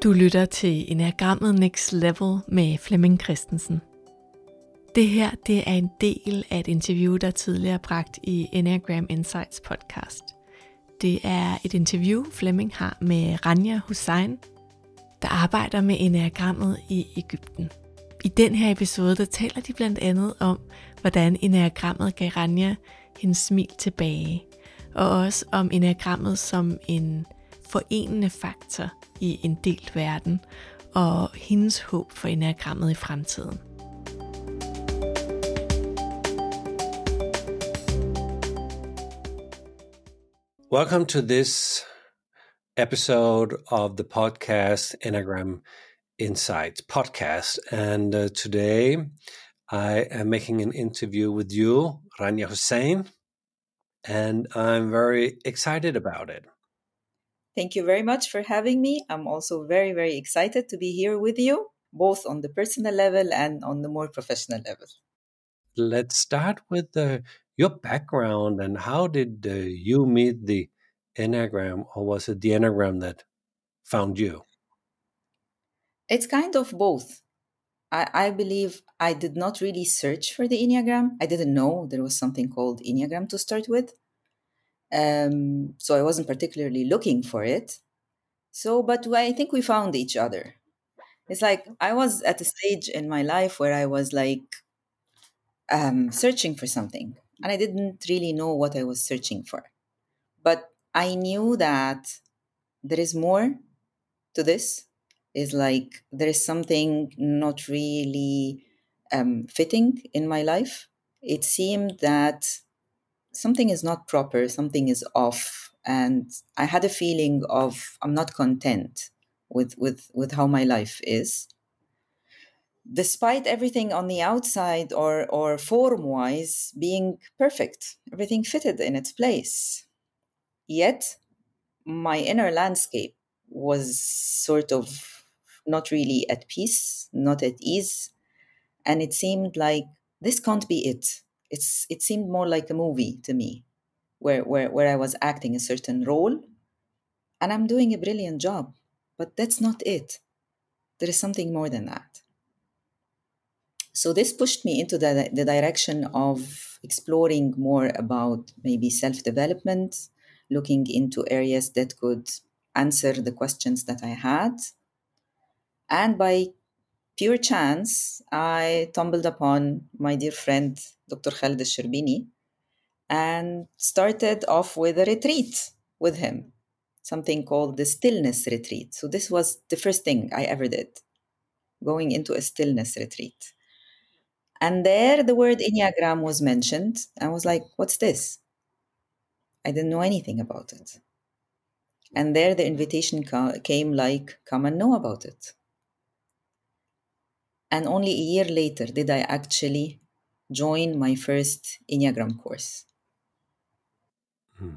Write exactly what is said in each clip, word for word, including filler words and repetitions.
Du lytter til Enneagrammet Next Level med Flemming Christensen. Det her det er en del af et interview, der tidligere er bragt i Enneagram Insights podcast. Det er et interview, Flemming har med Rania Hussain, der arbejder med Enneagrammet i Egypten. I den her episode, der taler de blandt andet om, hvordan Enneagrammet gav Rania hendes smil tilbage, og også om Enneagrammet som en forenende faktor i en delt verden, og hendes håb for Enneagrammet i fremtiden. Welcome to this episode of the podcast Enneagram Insights podcast. And uh, today I am making an interview with you, Rania Hussain, and I'm very excited about it. Thank you very much for having me. I'm also very, very excited to be here with you, both on the personal level and on the more professional level. Let's start with uh, your background and how did uh, you meet the Enneagram, or was it the Enneagram that found you? It's kind of both. I, I believe I did not really search for the Enneagram. I didn't know there was something called Enneagram to start with. Um, so I wasn't particularly looking for it. So, but I think we found each other. It's like I was at a stage in my life where I was like um, searching for something, and I didn't really know what I was searching for. But I knew that there is more to this. Is like there is something not really um, fitting in my life. It seemed that something is not proper, something is off, and I had a feeling of I'm not content with with with how my life is. Despite everything on the outside or or form-wise being perfect, everything fitted in its place. Yet my inner landscape was sort of not really at peace, not at ease, and it seemed like this can't be it. It's it seemed more like a movie to me, where where where I was acting a certain role, and I'm doing a brilliant job, but that's not it. There is something more than that. So this pushed me into the, the direction of exploring more about maybe self-development, looking into areas that could answer the questions that I had. And by pure chance, I stumbled upon my dear friend, Doctor Khaled Al-Sherbini, and started off with a retreat with him, something called the Stillness Retreat. So this was the first thing I ever did, going into a stillness retreat. And there the word Enneagram was mentioned. I was like, what's this? I didn't know anything about it. And there the invitation ca- came like, come and know about it. And only a year later did I actually join my first Enneagram course. Hmm.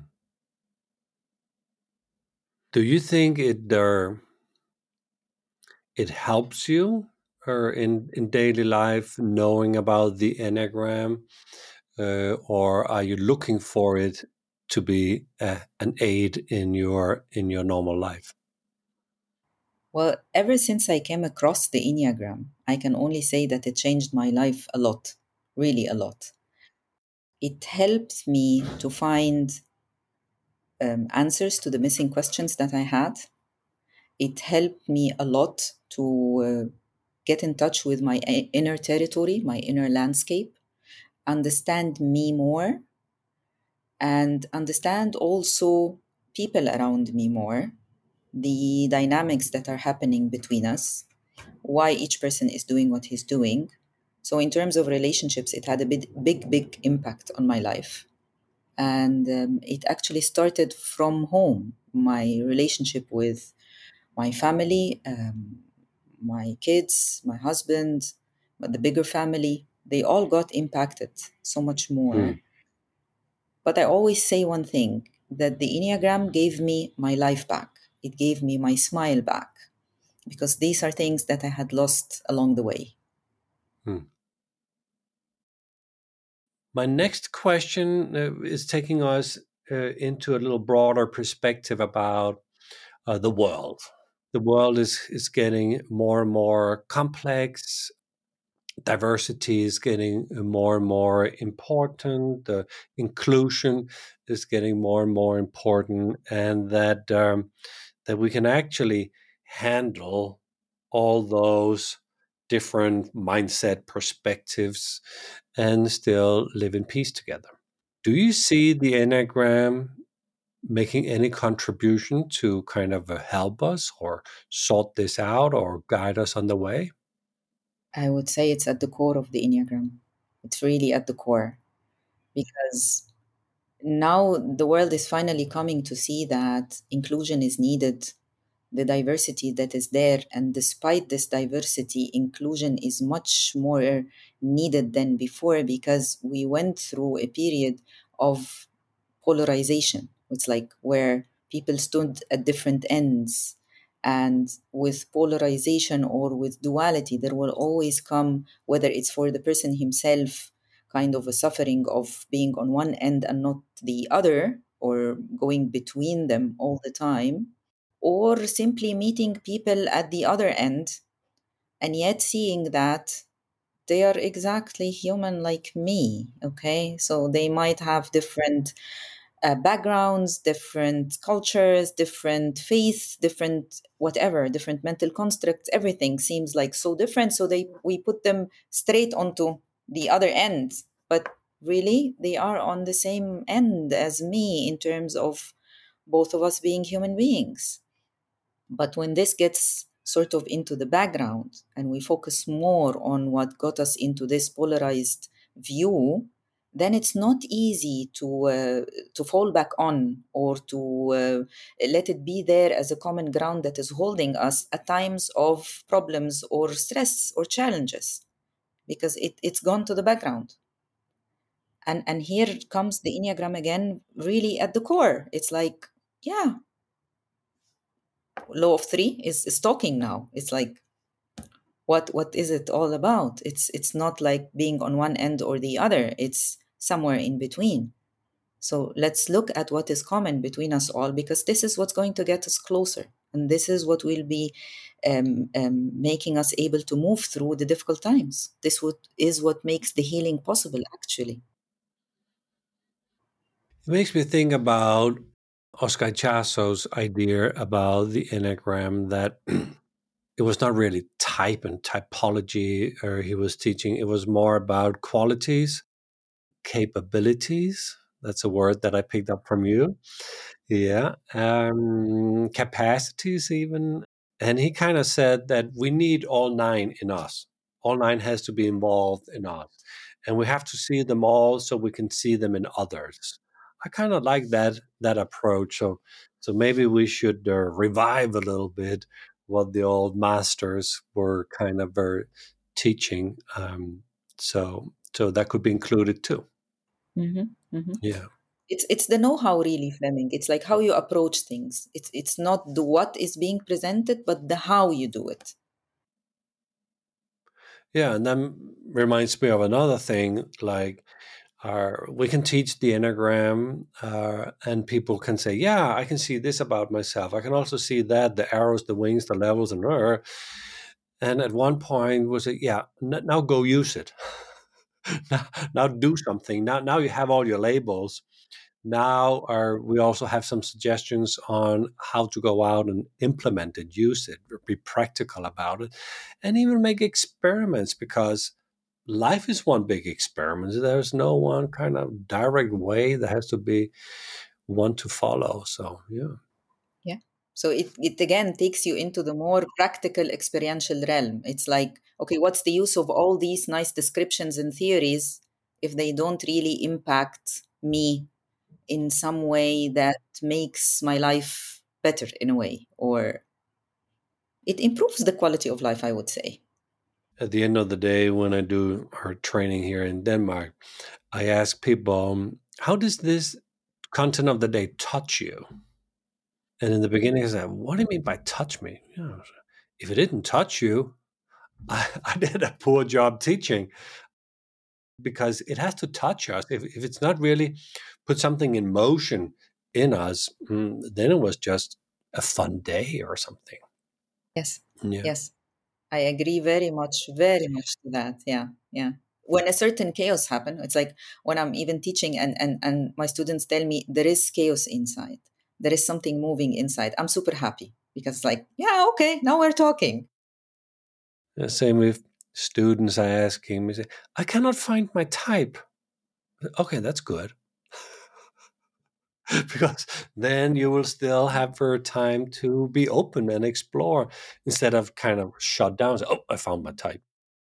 Do you think it uh, it helps you or in, in daily life knowing about the Enneagram, uh, or are you looking for it to be a, an aid in your in your normal life? Well, ever since I came across the Enneagram, I can only say that it changed my life a lot, really a lot. It helped me to find um, answers to the missing questions that I had. It helped me a lot to uh, get in touch with my inner territory, my inner landscape, understand me more, and understand also people around me more, the dynamics that are happening between us, why each person is doing what he's doing. So in terms of relationships, it had a big, big, big impact on my life. And um, it actually started from home, my relationship with my family, um, my kids, my husband, but the bigger family, they all got impacted so much more. Hmm. But I always say one thing, that the Enneagram gave me my life back. It gave me my smile back, because these are things that I had lost along the way. Hmm. My next question uh, is taking us uh, into a little broader perspective about uh, the world. the world is, is getting more and more complex. Diversity is getting more and more important. The inclusion is getting more and more important, and that um, that we can actually handle all those different mindset perspectives and still live in peace together. Do you see the Enneagram making any contribution to kind of uh, help us or sort this out or guide us on the way? I would say it's at the core of the Enneagram. It's really at the core, because now the world is finally coming to see that inclusion is needed, the diversity that is there. And despite this diversity, inclusion is much more needed than before, because we went through a period of polarization. It's like where people stood at different ends. And with polarization or with duality, there will always come, whether it's for the person himself, kind of a suffering of being on one end and not the other, or going between them all the time, or simply meeting people at the other end and yet seeing that they are exactly human like me. Okay, so they might have different uh, backgrounds, different cultures, different faiths, different whatever, different mental constructs. Everything seems like so different, so they we put them straight onto the other end, but really they are on the same end as me in terms of both of us being human beings. But when this gets sort of into the background and we focus more on what got us into this polarized view, then it's not easy to uh, to fall back on, or to uh, let it be there as a common ground that is holding us at times of problems or stress or challenges, because it, it's gone to the background. And and here comes the Enneagram again, really at the core. It's like, yeah, law of three is, is talking now. It's like, what what is it all about? It's it's not like being on one end or the other. It's somewhere in between. So let's look at what is common between us all, because this is what's going to get us closer, and this is what will be um, um, making us able to move through the difficult times. This would, is what makes the healing possible, actually. It makes me think about Oscar Chasso's idea about the Enneagram, that it was not really type and typology or he was teaching. It was more about qualities, capabilities. That's a word that I picked up from you. Yeah. Um, capacities, even. And he kind of said that we need all nine in us. All nine has to be involved in us. And we have to see them all so we can see them in others. I kind of like that that approach. So, so maybe we should uh, revive a little bit what the old masters were kind of uh, teaching. Um, so, so that could be included too. Mm-hmm, mm-hmm. Yeah. It's it's the know-how, really, Fleming. It's like how you approach things. It's it's not the what is being presented, but the how you do it. Yeah, and that reminds me of another thing. Like, uh, we can teach the Enneagram, uh, and people can say, "Yeah, I can see this about myself. I can also see that the arrows, the wings, the levels, and uh, and at one point was it, yeah, n- now go use it. now, now do something. Now, now you have all your labels. Now are we also have some suggestions on how to go out and implement it, use it, be practical about it, and even make experiments, because life is one big experiment. There's no one kind of direct way. There has to be one to follow. So yeah. Yeah. So it, it again takes you into the more practical experiential realm. It's like, okay, what's the use of all these nice descriptions and theories if they don't really impact me in some way that makes my life better in a way, or it improves the quality of life, I would say. At the end of the day, when I do our training here in Denmark, I ask people, um, how does this content of the day touch you? And in the beginning, I said, what do you mean by touch me? You know, if it didn't touch you, I, I did a poor job teaching, because it has to touch us. If, if it's not really put something in motion in us, mm, then it was just a fun day or something. Yes. Yeah. Yes. I agree very much, very much to that. Yeah. Yeah. When a certain chaos happen, it's like when I'm even teaching and, and, and my students tell me there is chaos inside. There is something moving inside. I'm super happy because like, yeah, okay, now we're talking. The same with students. I ask him, say, I cannot find my type. Okay, that's good. Because then you will still have your time to be open and explore instead of kind of shut down. Say, oh, I found my type.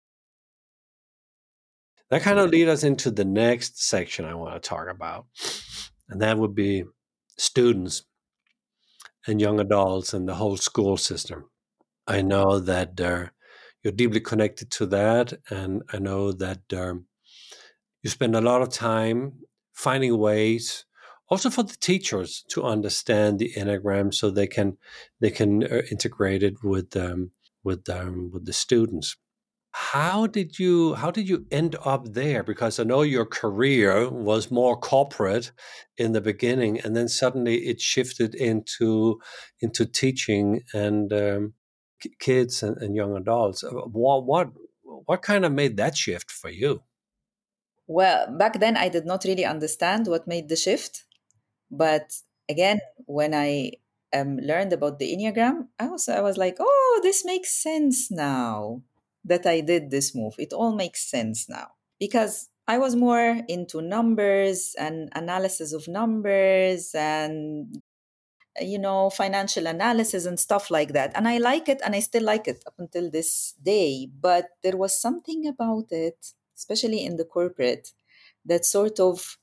That kind of lead us into the next section I want to talk about. And that would be students and young adults and the whole school system. I know that uh, you're deeply connected to that. And I know that um, you spend a lot of time finding ways also for the teachers to understand the Enneagram so they can they can uh, integrate it with um, with um, with the students. How did you how did you end up there? Because I know your career was more corporate in the beginning, and then suddenly it shifted into into teaching and um, k- kids and, and young adults. Uh, What what what kind of made that shift for you? Well, back then I did not really understand what made the shift. But again, when I um, learned about the Enneagram, I was I was like, oh, this makes sense now that I did this move. It all makes sense now because I was more into numbers and analysis of numbers and you know financial analysis and stuff like that. And I like it, and I still like it up until this day. But there was something about it, especially in the corporate, that sort of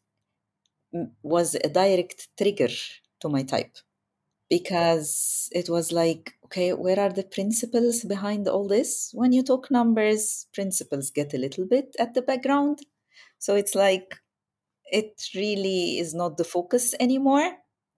was a direct trigger to my type because it was like, okay, where are the principles behind all this? When you talk numbers, principles get a little bit at the background. So it's like, it really is not the focus anymore.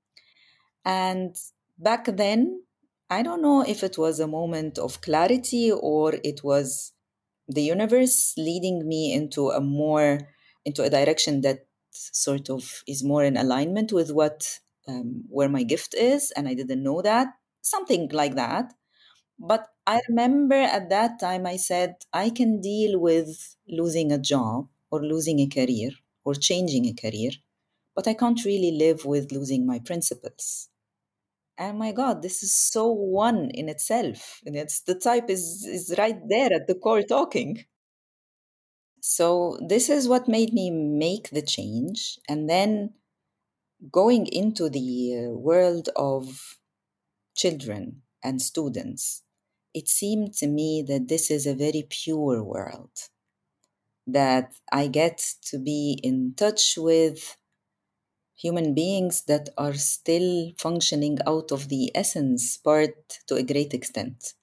And back then, I don't know if it was a moment of clarity or it was the universe leading me into a more into a direction that sort of is more in alignment with what um, where my gift is, and I didn't know that, something like that. But I remember at that time I said I can deal with losing a job or losing a career or changing a career, but I can't really live with losing my principles. And my God, this is so one in itself, and it's the type is is right there at the core talking. So this is what made me make the change. And then going into the uh, world of children and students, it seemed to me that this is a very pure world, that I get to be in touch with human beings that are still functioning out of the essence part to a great extent.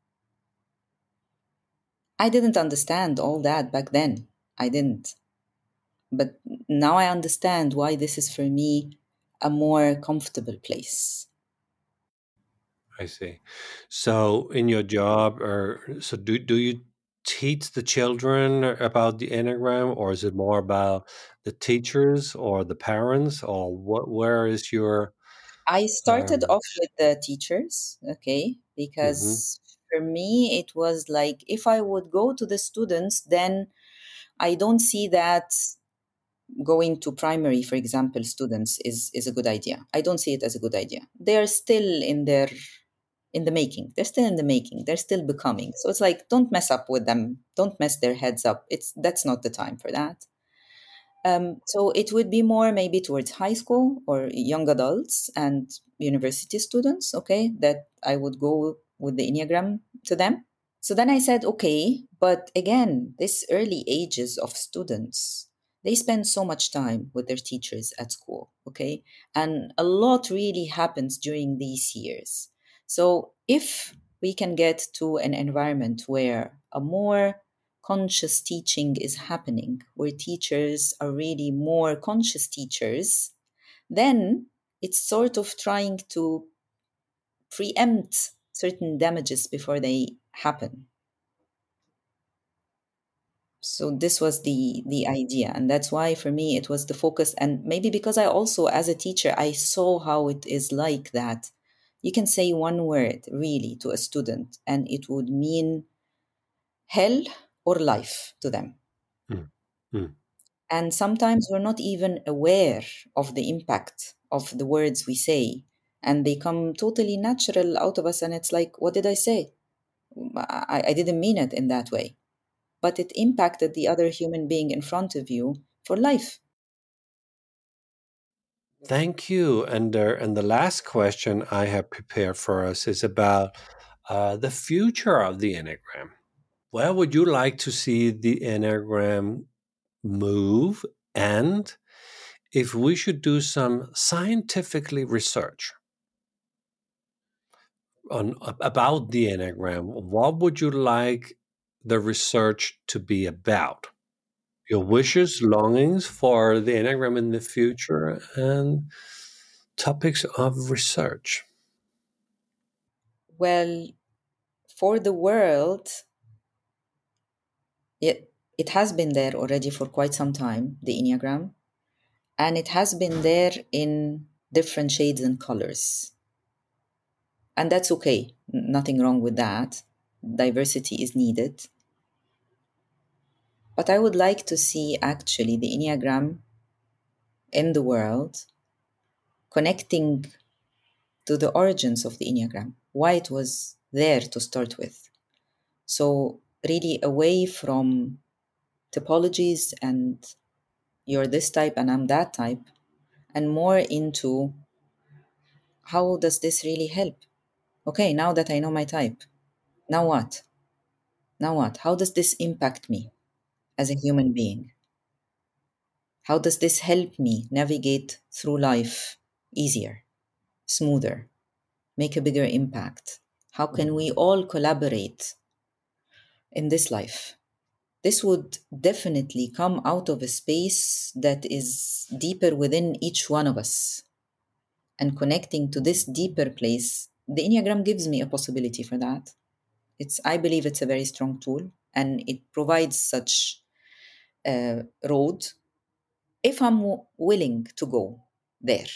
I didn't understand all that back then. I didn't. But now I understand why this is for me a more comfortable place. I see. So in your job, or so do do you teach the children about the Enneagram, or is it more about the teachers or the parents, or what? Where is your I started um, off with the teachers, okay, mhm. because for me it was like if I would go to the students, then I don't see that going to primary, for example, students is, is a good idea. I don't see it as a good idea. They are still in their in the making. They're still in the making. They're still becoming. So it's like don't mess up with them. Don't mess their heads up. It's that's not the time for that. Um, so it would be more maybe towards high school or young adults and university students, okay, that I would go with the Enneagram to them. So then I said, okay, but again, this early ages of students, they spend so much time with their teachers at school, okay? And a lot really happens during these years. So if we can get to an environment where a more conscious teaching is happening, where teachers are really more conscious teachers, then it's sort of trying to preempt certain damages before they happen. So this was the the idea, and that's why for me it was the focus. And maybe because I also as a teacher I saw how it is like that you can say one word really to a student and it would mean hell or life to them. Mm. Mm. And sometimes we're not even aware of the impact of the words we say, and they come totally natural out of us, and it's like, what did I say? I, I didn't mean it in that way. But it impacted the other human being in front of you for life. Thank you. And uh, and the last question I have prepared for us is about uh, the future of the Enneagram. Where would you like to see the Enneagram move? And if we should do some scientifically research on about the Enneagram, what would you like the research to be about? Your wishes, longings for the Enneagram in the future, and topics of research. Well, for the world, it, it has been there already for quite some time, the Enneagram, and it has been there in different shades and colors. And that's okay, nothing wrong with that. Diversity is needed. But I would like to see actually the Enneagram in the world connecting to the origins of the Enneagram, why it was there to start with. So, really away from typologies and you're this type and I'm that type, and more into how does this really help? Okay, now that I know my type, now what? Now what? How does this impact me as a human being? How does this help me navigate through life easier, smoother, make a bigger impact? How can we all collaborate in this life? This would definitely come out of a space that is deeper within each one of us. And connecting to this deeper place, the Enneagram gives me a possibility for that. It's, I believe it's a very strong tool, and it provides such a road if I'm w- willing to go there.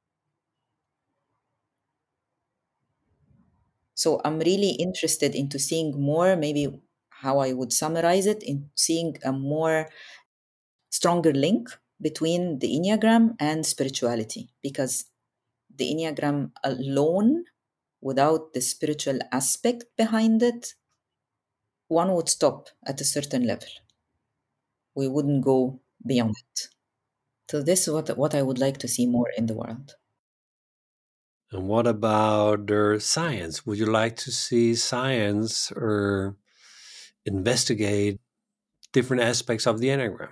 So I'm really interested into seeing more, maybe how I would summarize it, in seeing a more stronger link between the Enneagram and spirituality, because the Enneagram alone, without the spiritual aspect behind it, one would stop at a certain level. We wouldn't go beyond it. So this is what, what I would like to see more in the world. And what about uh, science? Would you like to see science or investigate different aspects of the Enneagram?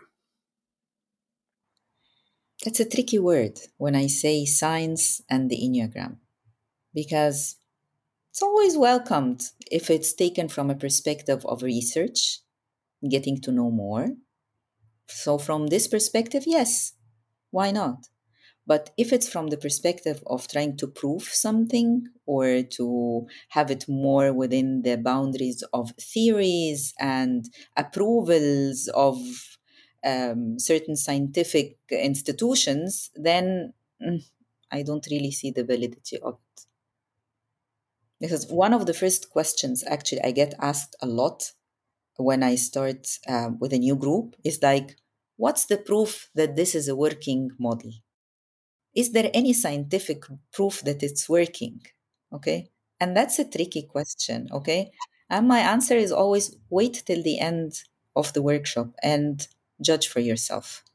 It's a tricky word when I say science and the Enneagram, because it's always welcomed if it's taken from a perspective of research, getting to know more. So, from this perspective, yes, why not? But if it's from the perspective of trying to prove something or to have it more within the boundaries of theories and approvals of um, certain scientific institutions, then mm, I don't really see the validity of it. Because one of the first questions actually I get asked a lot when I start uh, with a new group is like, what's the proof that this is a working model? Is there any scientific proof that it's working? Okay. And that's a tricky question. Okay. And my answer is always wait till the end of the workshop and judge for yourself.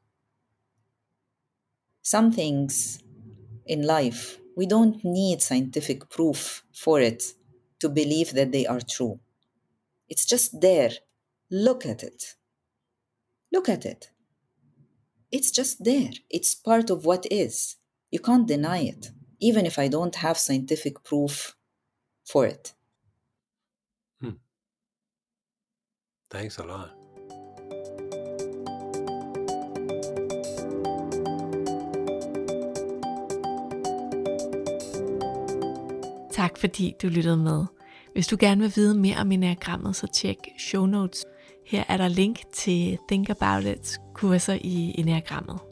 Some things in life, we don't need scientific proof for it to believe that they are true. It's just there. Look at it. Look at it. It's just there. It's part of what is. You can't deny it, even if I don't have scientific proof for it. Hmm. Thanks a lot. Tak fordi du lyttede med. Hvis du gerne vil vide mere om Enneagrammet, så tjek show notes. Her er der link til Think About It's kurser i Enneagrammet.